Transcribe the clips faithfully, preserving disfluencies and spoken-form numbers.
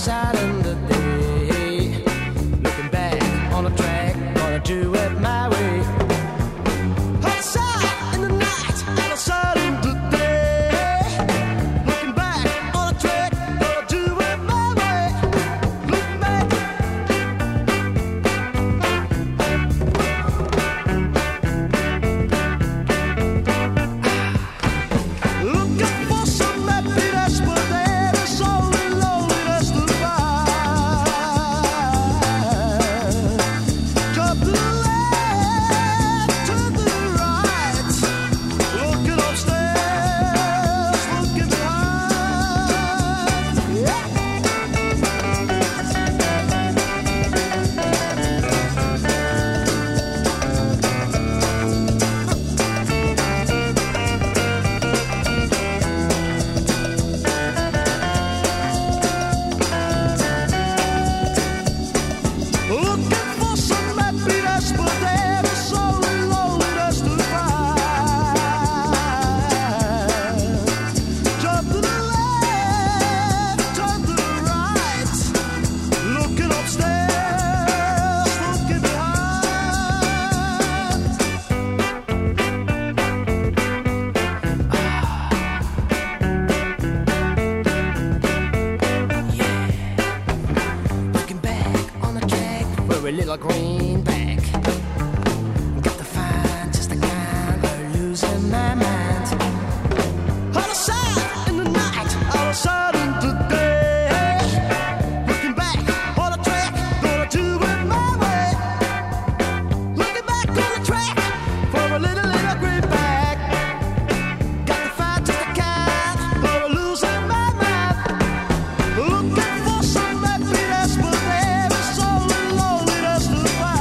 side in the day. Looking back on the track, gonna do it my way. Hot side in the night, out of side in the day. Looking back on the track, gonna do it my way. Looking back. Looking for some happiness, but there is only loneliness to find. Drop the left, turn to the right. Looking upstairs, looking behind. Yeah. Looking for some happiness, but there is only loneliness to find. Jump to the left, turn to the right. Looking upstairs, looking behind. Looking back on the track for a little greenback. Got to find just the kind of losing my mind. Out of sight in the night, out of sight in the day. Looking back on the track, gonna do it my way. Looking back on the track for a little, little greenback. Got to find just the kind of losing my mind. Looking for some happiness, but there is only loneliness to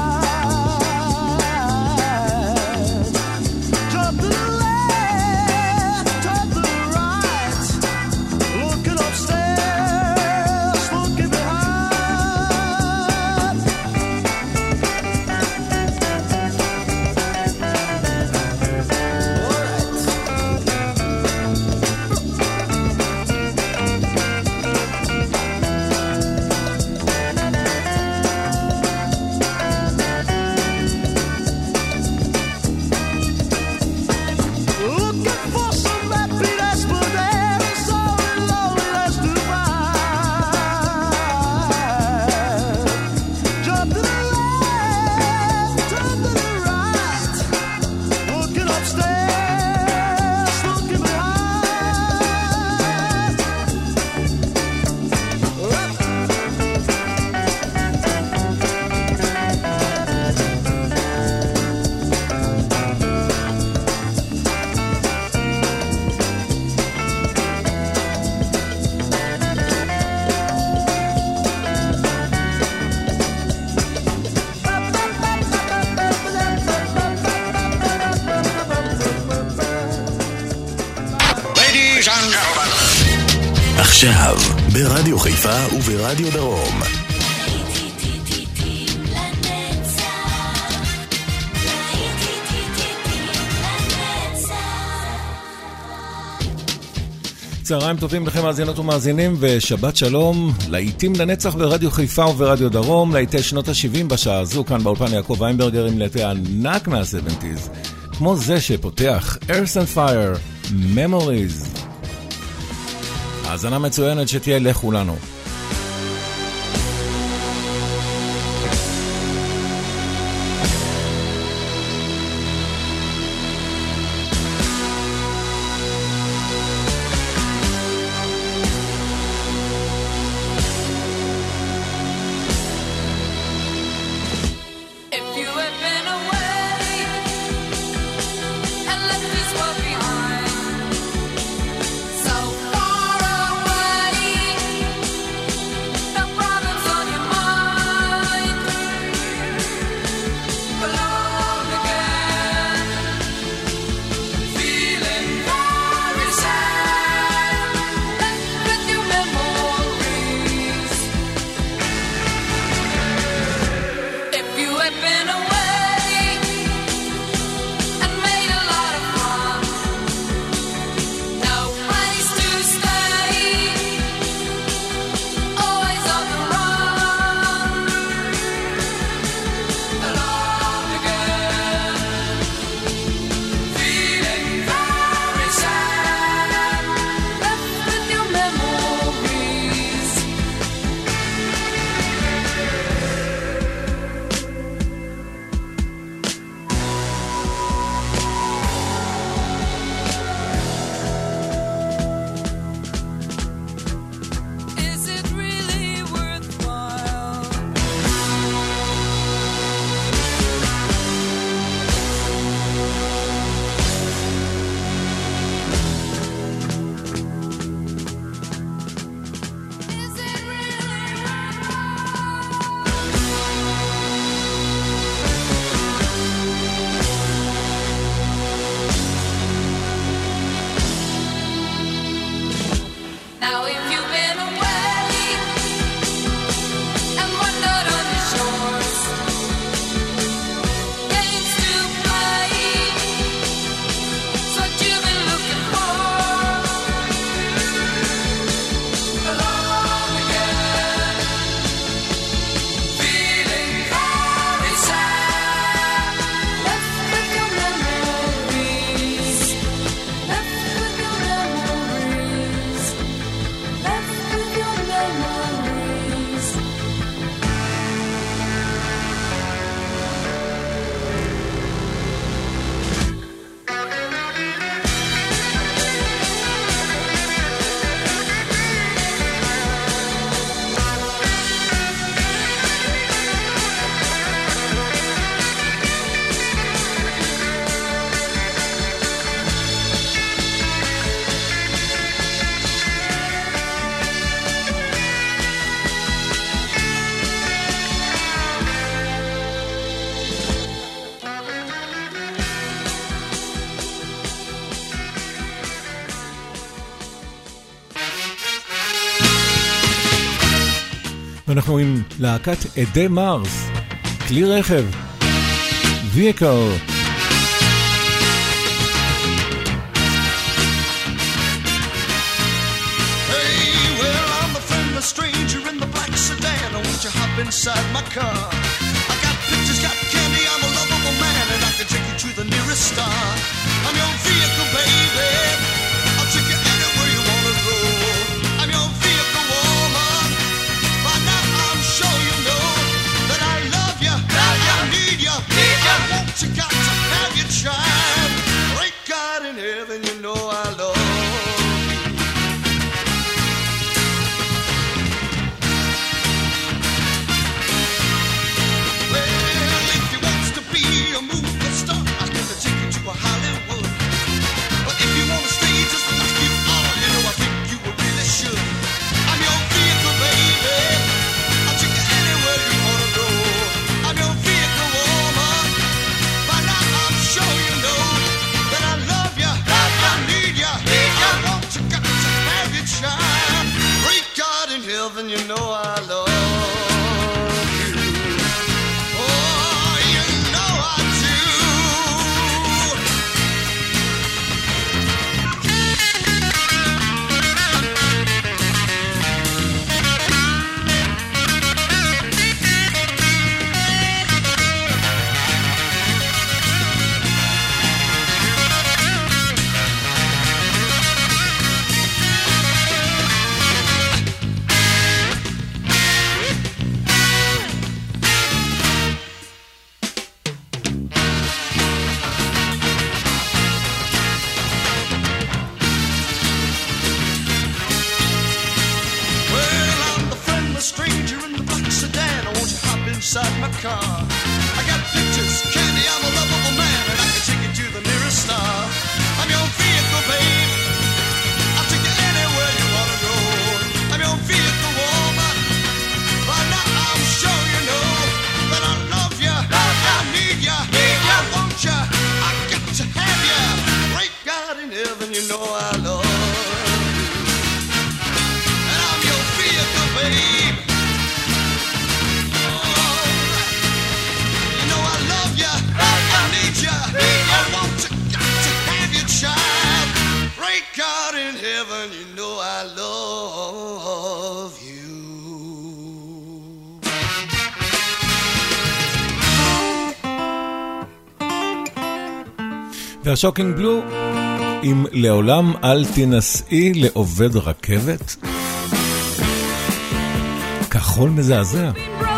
find. Jump to the left, turn to the right. Looking upstairs, looking behind. Looking for some happiness, but there is only loneliness to find. Jump to the left, turn to the right. Looking upstairs, looking behind. Ladies and gentlemen. עכשיו, ברדיו חיפה וברדיו דרום. צהריים טובים לכם מאזינות ומאזינים ושבת שלום. להיטים לנצח ברדיו חיפה וברדיו דרום, להיטי שנות ה-שבעים בשעה הזו, כאן באולפן יעקב איינברגר עם להיטי ענק מה-שבעים, כמו זה שפותח Earth and Fire, Memories. האזנה מצוינת שתהיה לכולנו. If you had been away and left this world behind, so far away, אנחנו עם להקת עדי מרס, כלי רכב, vehicle. Stranger in the black sedan, I want you hop inside my car. I got pictures, got candy, I'm a lovable man, and I can take you to the nearest star. I'm your vehicle, baby. I'll take you anywhere you wanna go. I'm your vehicle, woman. By now I'm sure you know that I love you, love you. I need you, need you. I want you, got to have your child. Great God in heaven, you know I love. Then you know I love you. Oh, you know I do. Inside my car, I got pictures, candy, I'm a lovable man, and I can take you to the nearest star. I'm your vehicle, babe. I'll take you anywhere you wanna go. I'm your vehicle, woman. By now I'm sure you know that I love you, love you. I need you, need you. I want you, I got to have you. Great God in heaven, you know I love you, and I'm your vehicle, babe. I want to, got to have your child. Great God in heaven, you know I love you. והשוקינג בלו עם לעולם אל תנסי לעובד רכבת, כחול מזעזע.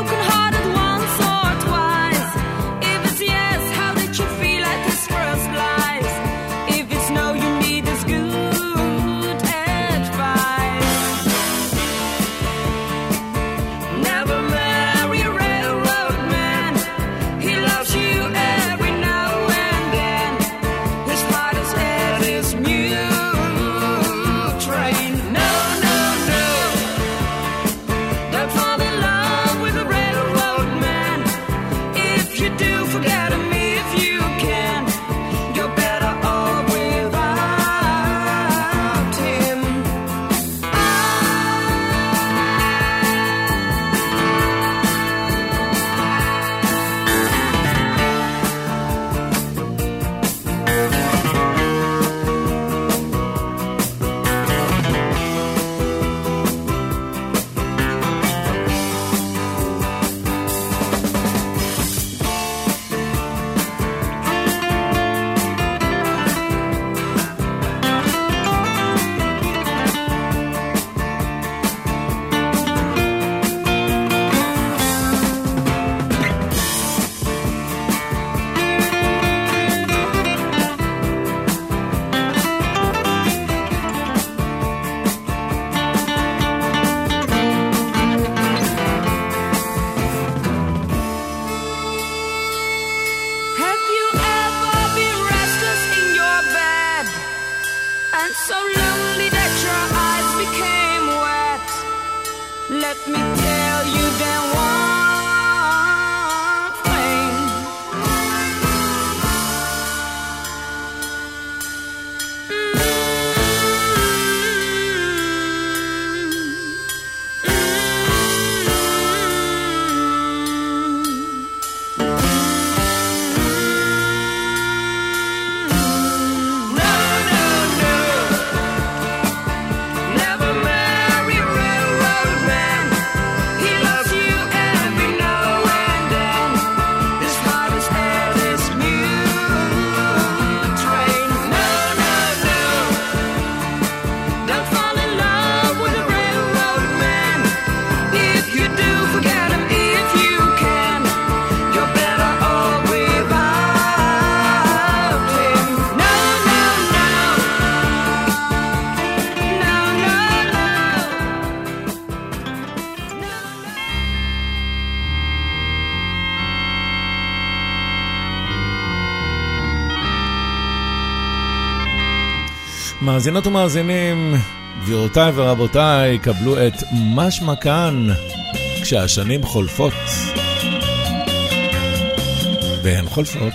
Let me tell you then one thing. Mm-hmm. מאזינות ומאזינים, גבירותיי ורבותיי, קבלו את משמע כאן כשהשנים חולפות, והן חולפות.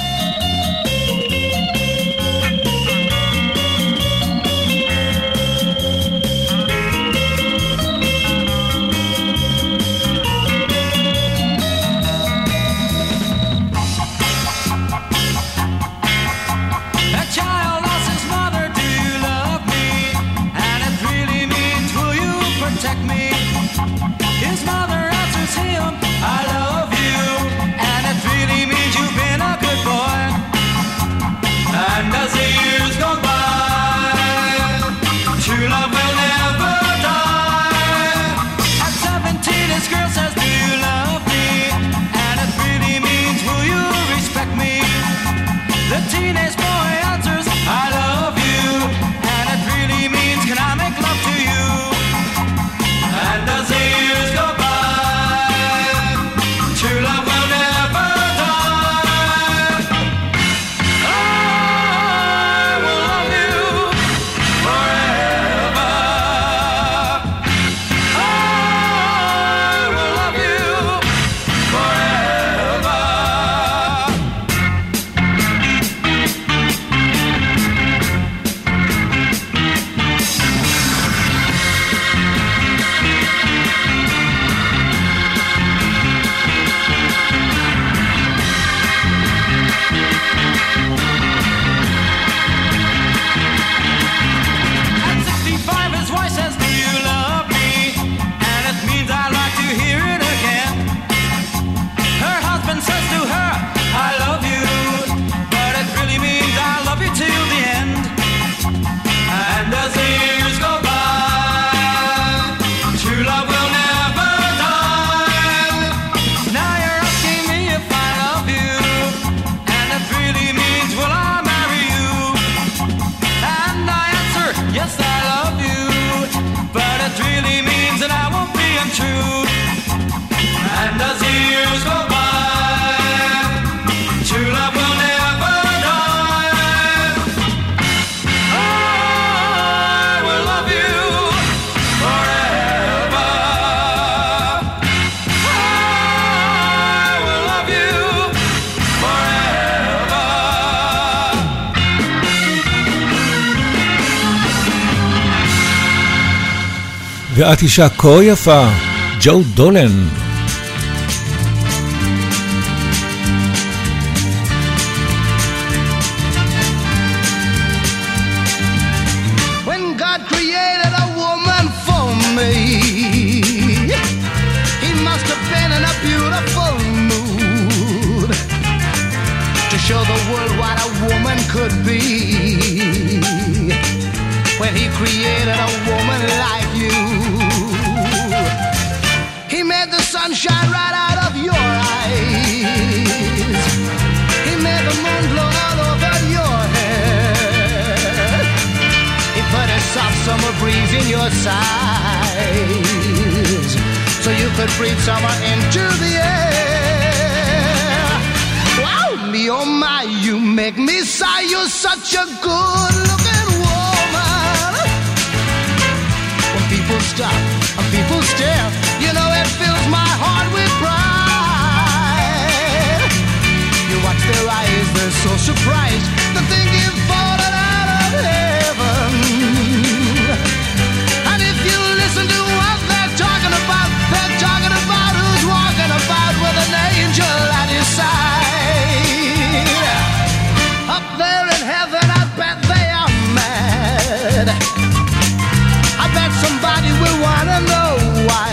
ואת אישה כה יפה, ג'ו דולן. When God created a woman for me, He must have been in a beautiful mood to show the world what a woman could be. When He created a woman like you, He made the sun shine right out of your eyes. He made the moon blow all over your head. He put a soft summer breeze in your sides, so you could breathe summer into the air. Wow, me oh my, you make me sigh. You're such a good-looking woman. When people stop and people stare, you know it fills my heart with pride. You watch their eyes, they're so surprised to think you've fallen out of heaven. And if you listen to what they're talking about, they're talking about who's walking about with an angel at his side. Up there in heaven, I bet they are mad. I bet somebody will wanna know why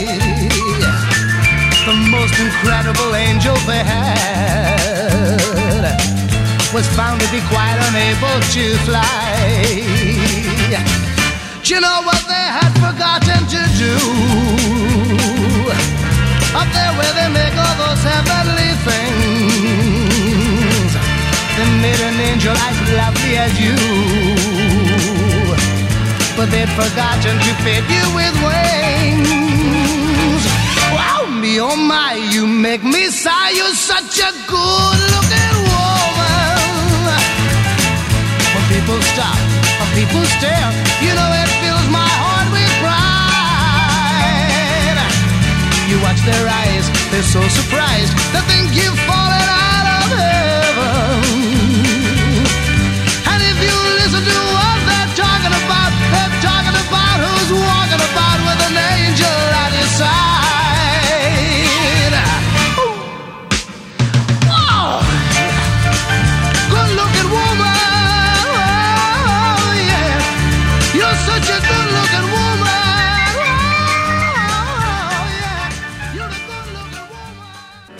the most incredible angel they had was found to be quite unable to fly. Do you know what they had forgotten to do? Up there where they make all those heavenly things, they made an angel as lovely as you, but they'd forgotten to fit you with wings. Wow, me oh my, you make me sigh. You're such a good-looking woman. When people stop, when people stare. You know it fills my heart with pride. You watch their eyes, they're so surprised. They think you've fallen out of heaven. And if you listen to what they're talking about, they're talking about who's walking about with an angel at his side. Whoa! Good looking woman, oh, yeah. You're such a good looking woman, oh, yeah. You're a good looking woman.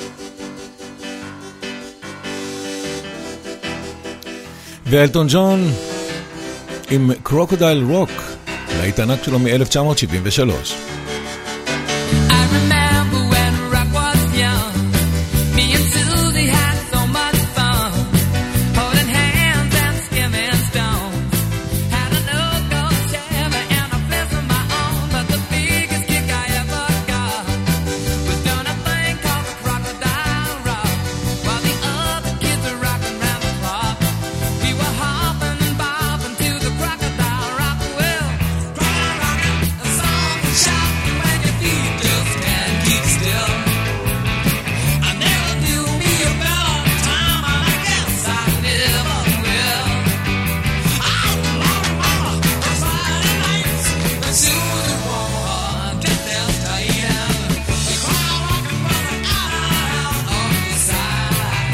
ואלטון ג'ון עם קרוקודייל רוק, להיט ענק שלו מ-אלף תשע מאות שבעים ושלוש. I remember when rock was young. Me and Susie had so much fun, holding hands and skimming stones. Had an Ogo Chevy and a place of my own, but the biggest kick I ever got was doing a thing called the Crocodile Rock, while the other kids were rocking round the clock. We were hopping and bobbing to the Crocodile Rock. Well, rockin', a song and shouting when your feet just can't keep still. I never knew me a better time, and I guess I never will. Oh, Lord, mama, those Friday nights, when Susie wore her dress down tight, and the crowd rockin' running out on the side.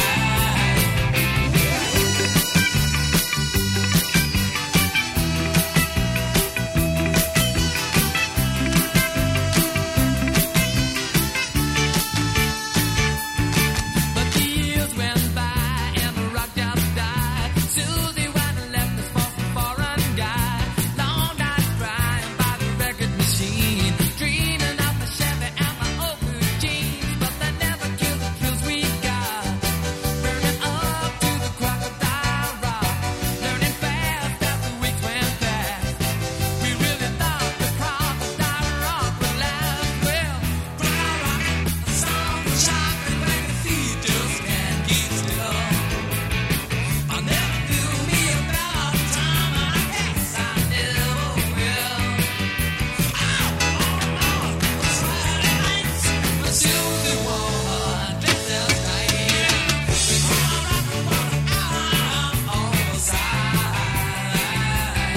But the years went by and the rock just died. Susie went and left us for some foreign guy. Long nights crying by the record machine, dreaming of the Chevy and my old blue jeans. But they never killed the thrills we got, burning up to the Crocodile Rock, learning fast as the weeks went past. We really thought the Crocodile Rock would last. Well, rockin', a song and shocking when your feet just can't keep still. I never knew me a better time, and I guess I never will. Oh, Lord, Lord, those Friday nights when Susie wore her dress down tight, the crowd rockin' running out on the side.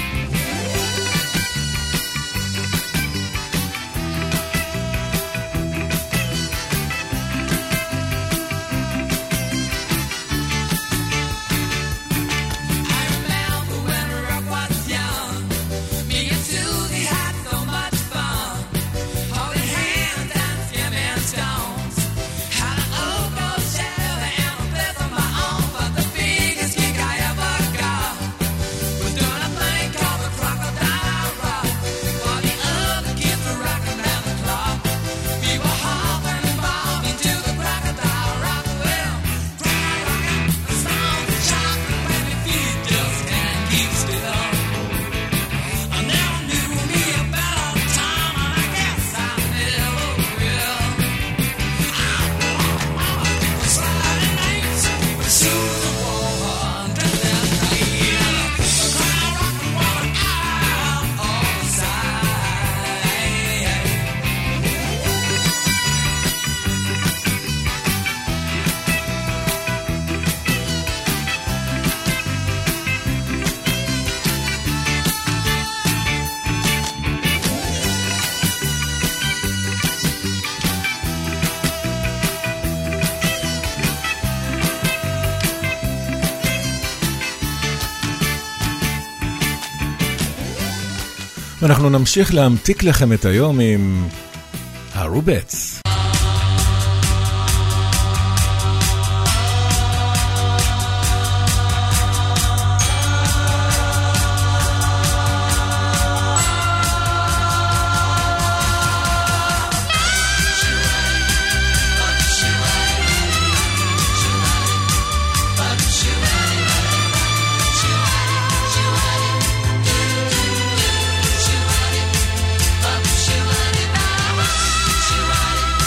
I remember when rock was young. Me and Susie had so much fun, holding hands and skimming stones. Had an Ogo Chevy and a place of my own, but the biggest kick I ever got was doing a thing called the Crocodile Rock, while the other kids were rocking round the clock. We were hopping and bobbing to the Crocodile Rock. Well, rockin', a song and shocking when your feet just can't keep still. I never knew me a better time, and I guess I never will. Oh, Lord, mama, those Friday nights when Susie wore her dress down tight, the crowd rockin' running out on the side. ואנחנו נמשיך להמתיק לכם את היום עם הרובטס. She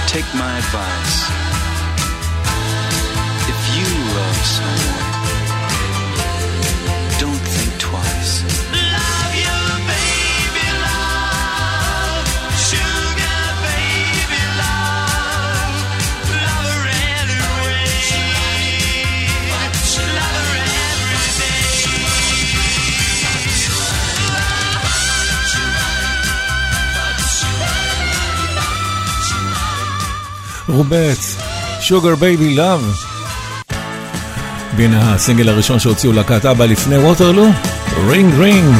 Take my advice. If you love someone, don't think twice. Love you, baby, love. Sugar, baby, love. Love her anyway. Love her every day. רובץ, Sugar Baby Love. והנה הסינגל הראשון שהוציאו להקת אבא לפני ווטרלו, רינג רינג.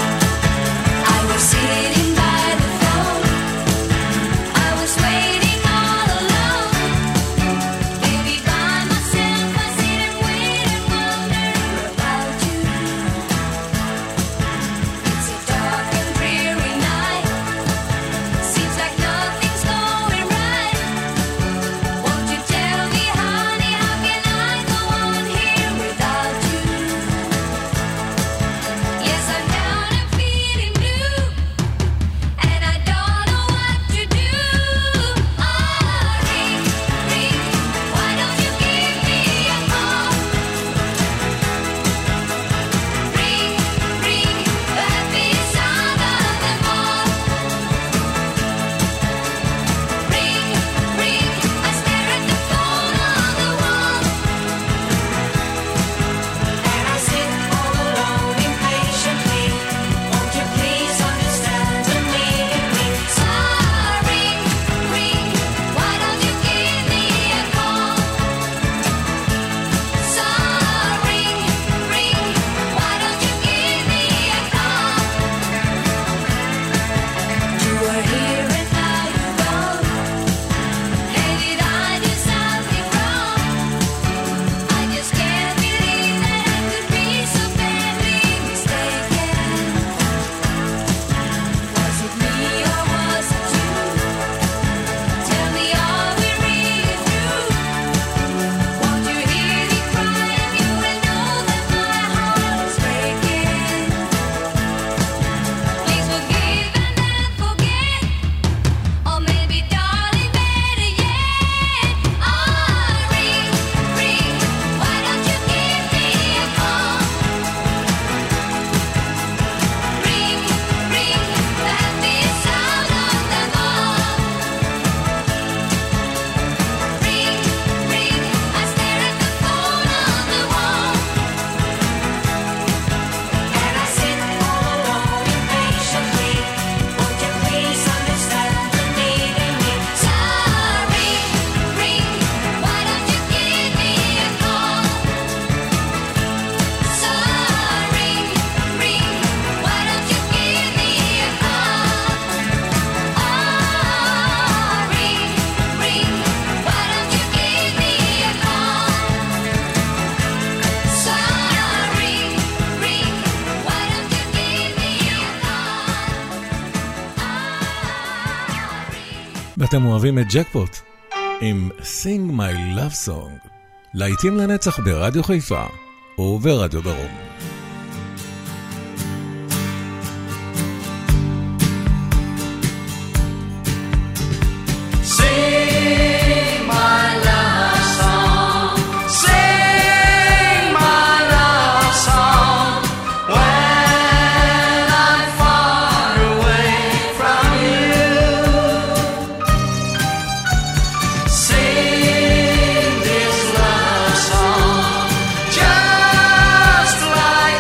ואתם אוהבים את ג'קפוט עם Sing My Love Song, להיטים לנצח ברדיו חיפה וברדיו דרום. Just like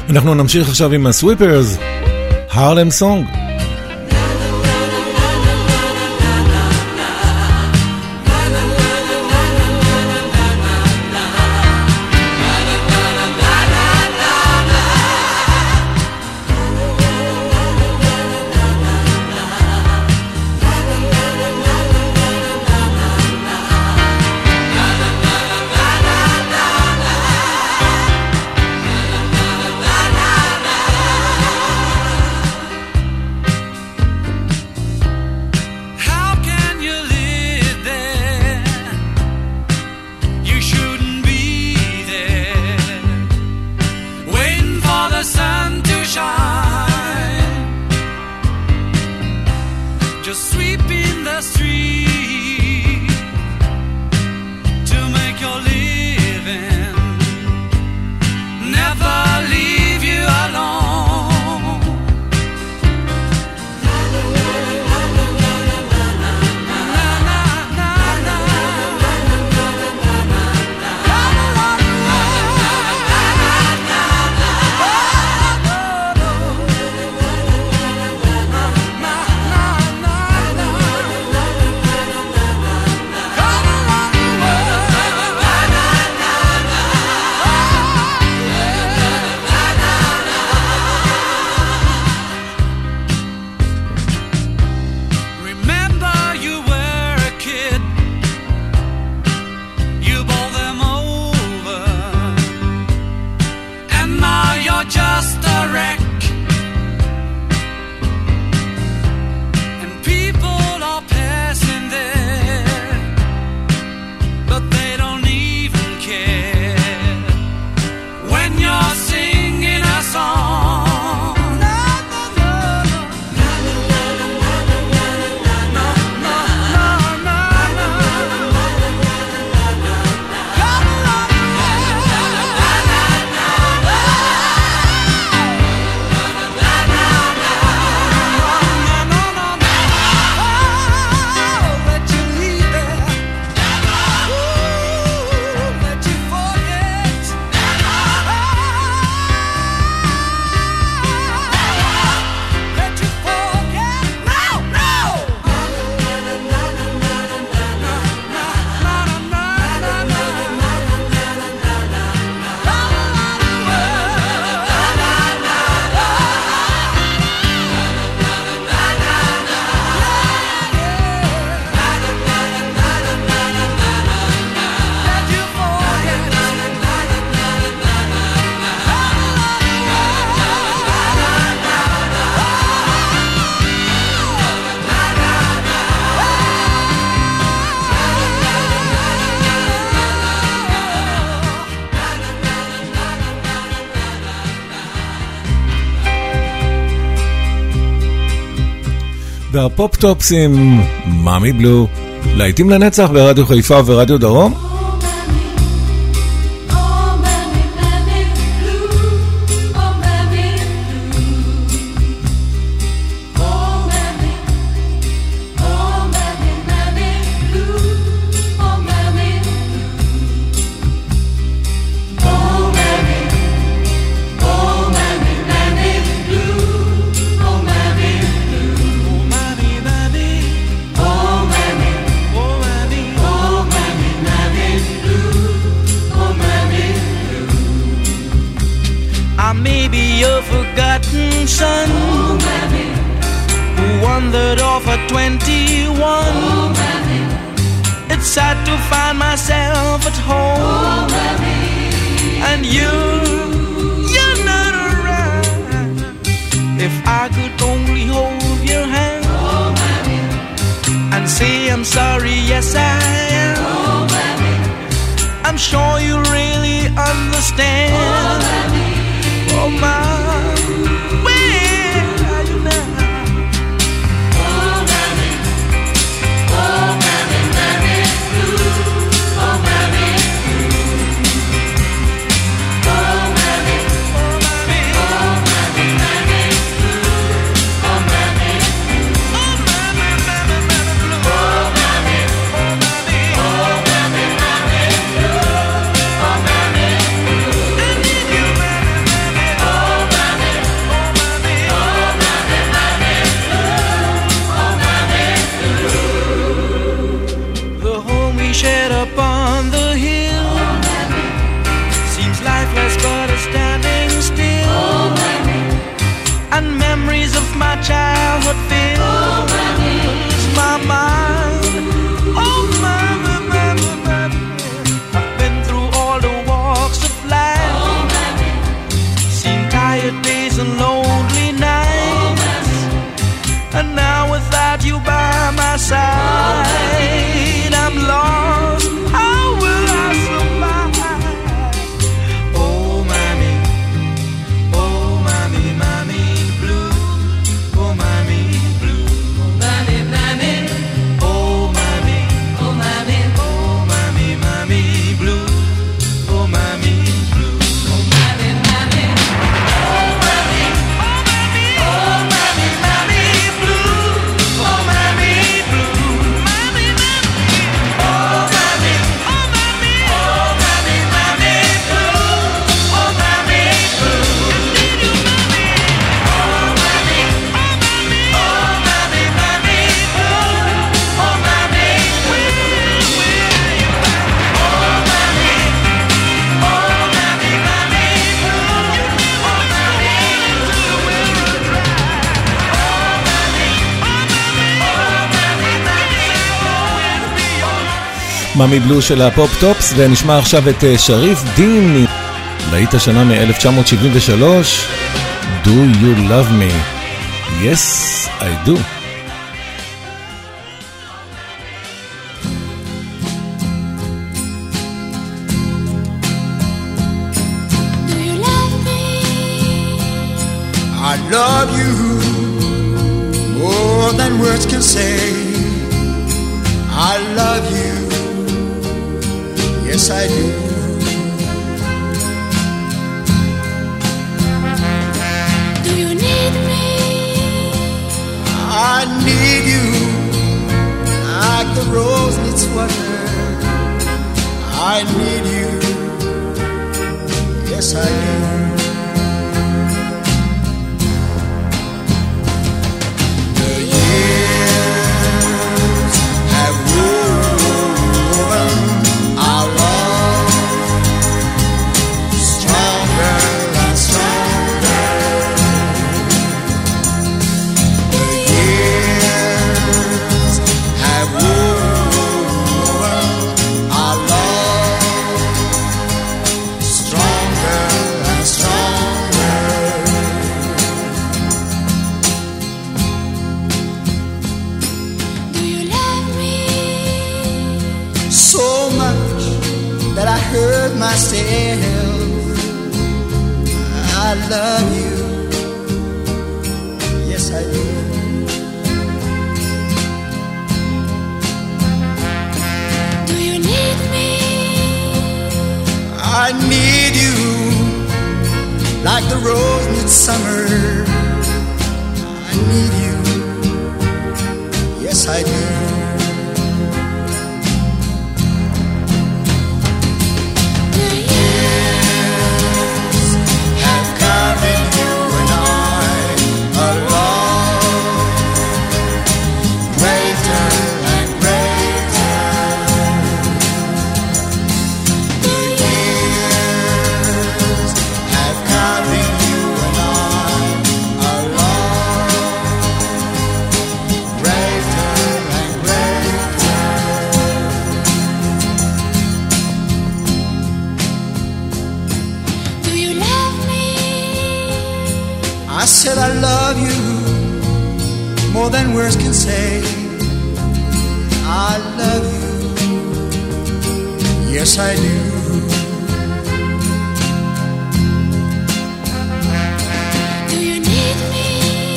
אנחנו נמשיך עכשיו עם הסוויפרס, הרלם סונג. והפופ-טופס עם מאמי בלו, להיטים לנצח ברדיו חיפה ורדיו דרום. Oh my childhood fills my mind. Oh, mommy, mommy, mommy, I've been through all the walks of life, seen tired days and lonely nights, and now without you by my side, I'm lost. How will I survive? Oh, mommy, oh, mommy, mommy blue, oh, mommy blue, Mommy, mommy, oh, mommy, oh mommy, oh, mommy, mommy blue, oh, mommy blue. oh mommy, mommy, Oh, mommy, oh, mommy, mommy blue, oh, mommy blue, mommy, mommy, oh, mommy, oh, mommy, oh, mommy, mommy blue, oh, mommy blue. Need you, mommy, oh, mommy, oh, mommy, oh, mommy, mommy blue, oh, mommy, where, where are you at? Oh, mommy, oh, mommy, mommy blue, oh, mommy, to the river dry. Oh, mommy, oh, mommy, oh, mommy, mommy, always be alright. מאמי בלו של הפופ טופס, ונשמע עכשיו את אה, שריף דין, להיט השנה מ-אלף תשע מאות שבעים ושלוש, Do You Love Me? Yes, I do. Do you love me? I love you more than words can say. I love you, yes I do. Do you need me? I need you like the rose needs water. I need you, yes I do. The years have woven our love stronger and stronger. The years have woven our love stronger and stronger. Do you love me? So much that I hurt myself. I love you, yes I do. Do you need me? I need you like the rose needs summer. I need you, yes I do. The years Have carried you and I a love greater and greater. The years have carried you and I a love greater and greater. Do you love me? I said I love you more than words can say. I love you, yes I do. Do you need me?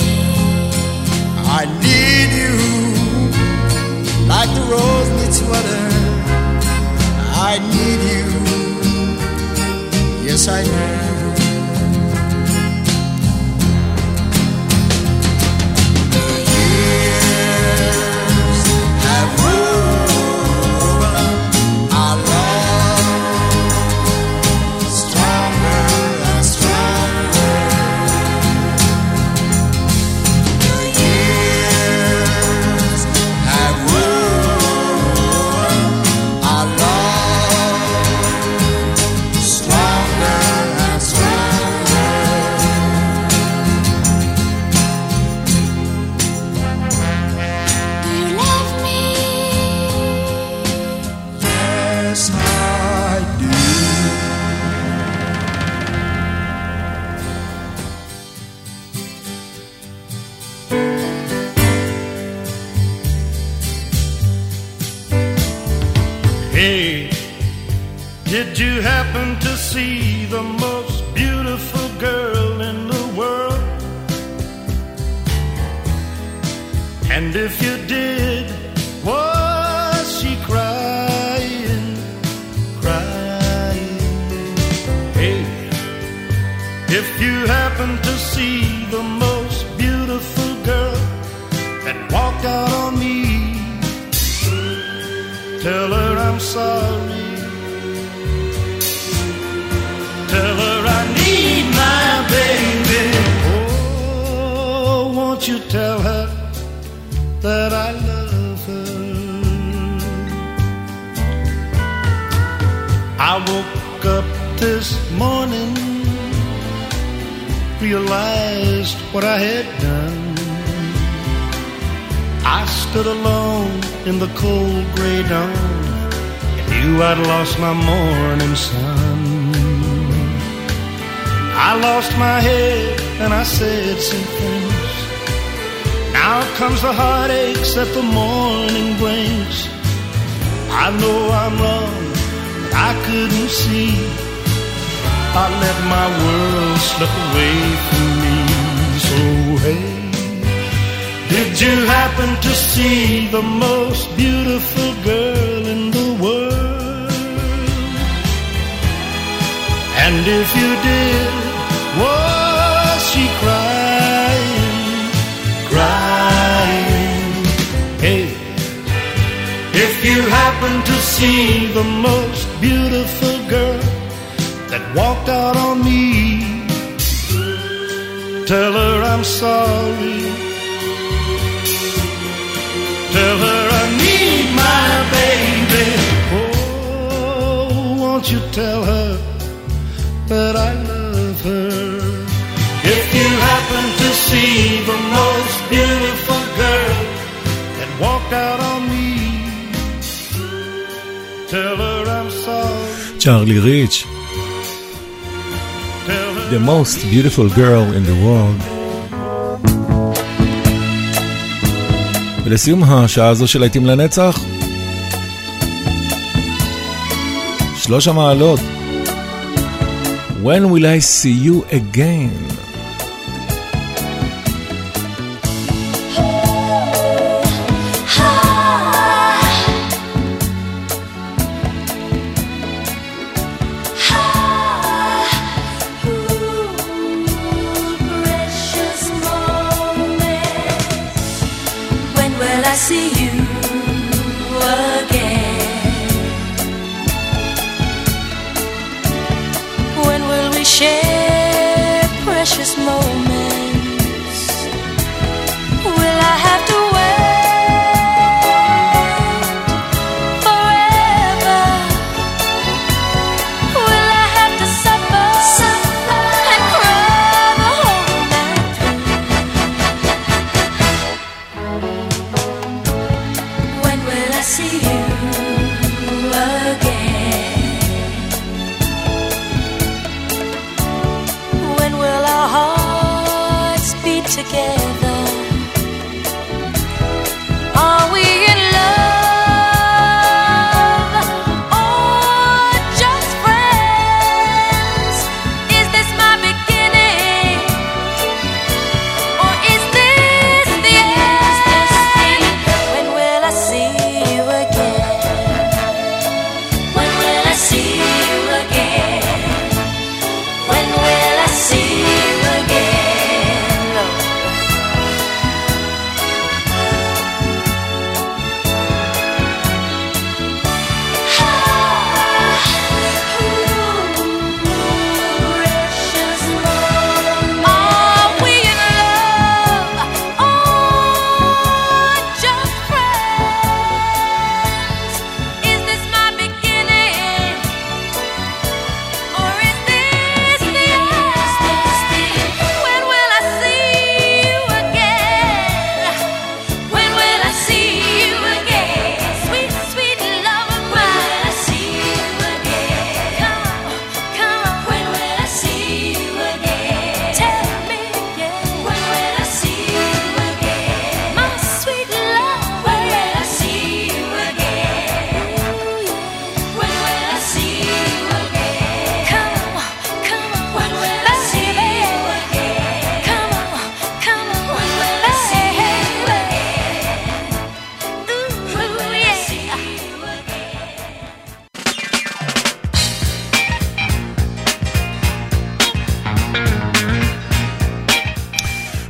I need you like the rose needs water. I need you, yes I do. The years have woven our love stronger and stronger. The years have woven our love stronger and Hey, did you happen to see the most beautiful girl in the world? And if you did, was she crying, crying? Hey, if you happen to see the most beautiful girl that walked out on me, tell her I'm sorry. Tell her I need my baby. Oh, won't you tell her that I love her? I woke up this morning, realized what I had done. I stood alone in the cold gray dawn and knew I'd lost my morning sun. I lost my head and I said some things. Now comes the heartaches that the morning brings. I know I'm wrong, but I couldn't see. I let my world slip away from me. So hey, did you happen to see the most beautiful girl in the world? And if you did, was she crying, crying? Hey, if you happen to see the most beautiful girl that walked out on me, tell her I'm sorry. Tell her I need my baby. Oh, won't you tell her that I love her? If you happen to see the most beautiful girl that walked out on me, tell her I'm sorry. צ'ארלי ריץ', the most beautiful girl in the world. ולסיום השעה הזו של להיטים לנצח, שלוש המעלות. When will I see you again?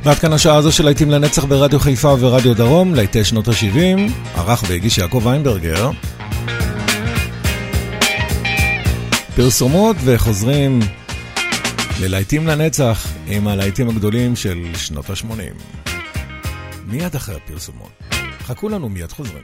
ועד כאן השעה הזו של להיטים לנצח ברדיו חיפה ורדיו דרום, להיטי שנות ה-שבעים, ערך והגיש יעקב ויינברגר. פרסומות וחוזרים ללהיטים לנצח עם הלהיטים הגדולים של שנות ה-שמונים. מיד אחרי הפרסומות. חכו לנו, מיד חוזרים.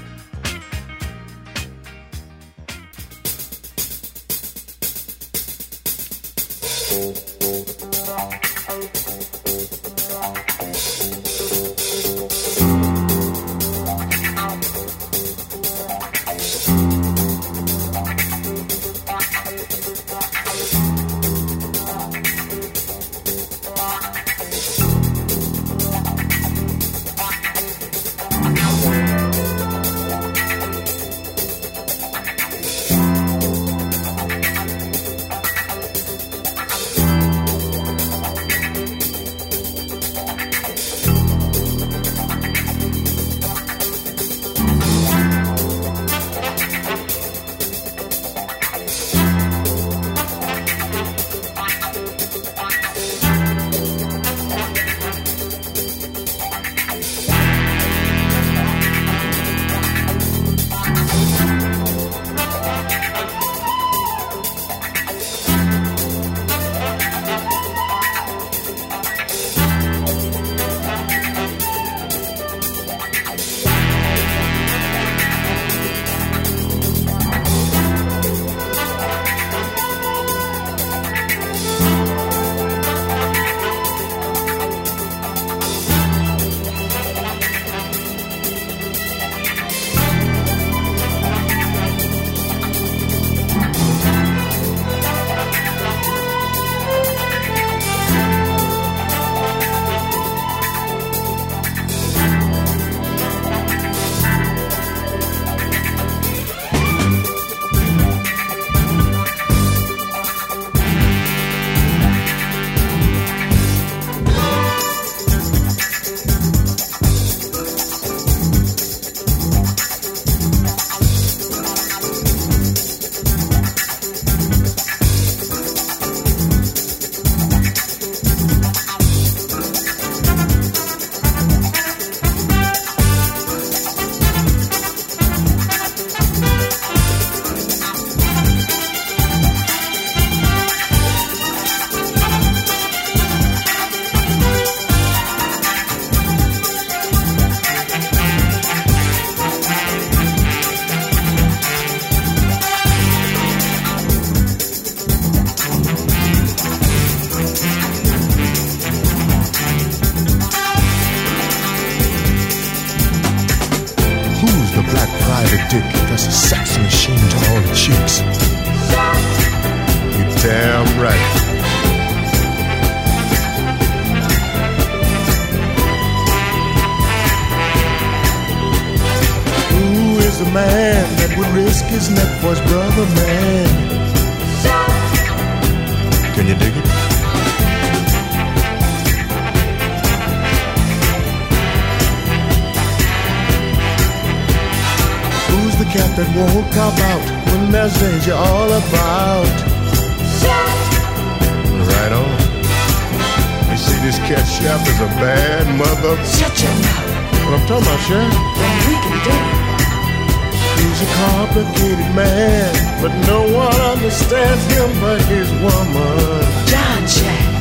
He's a complicated man, but no one understands him but his woman. John Jack.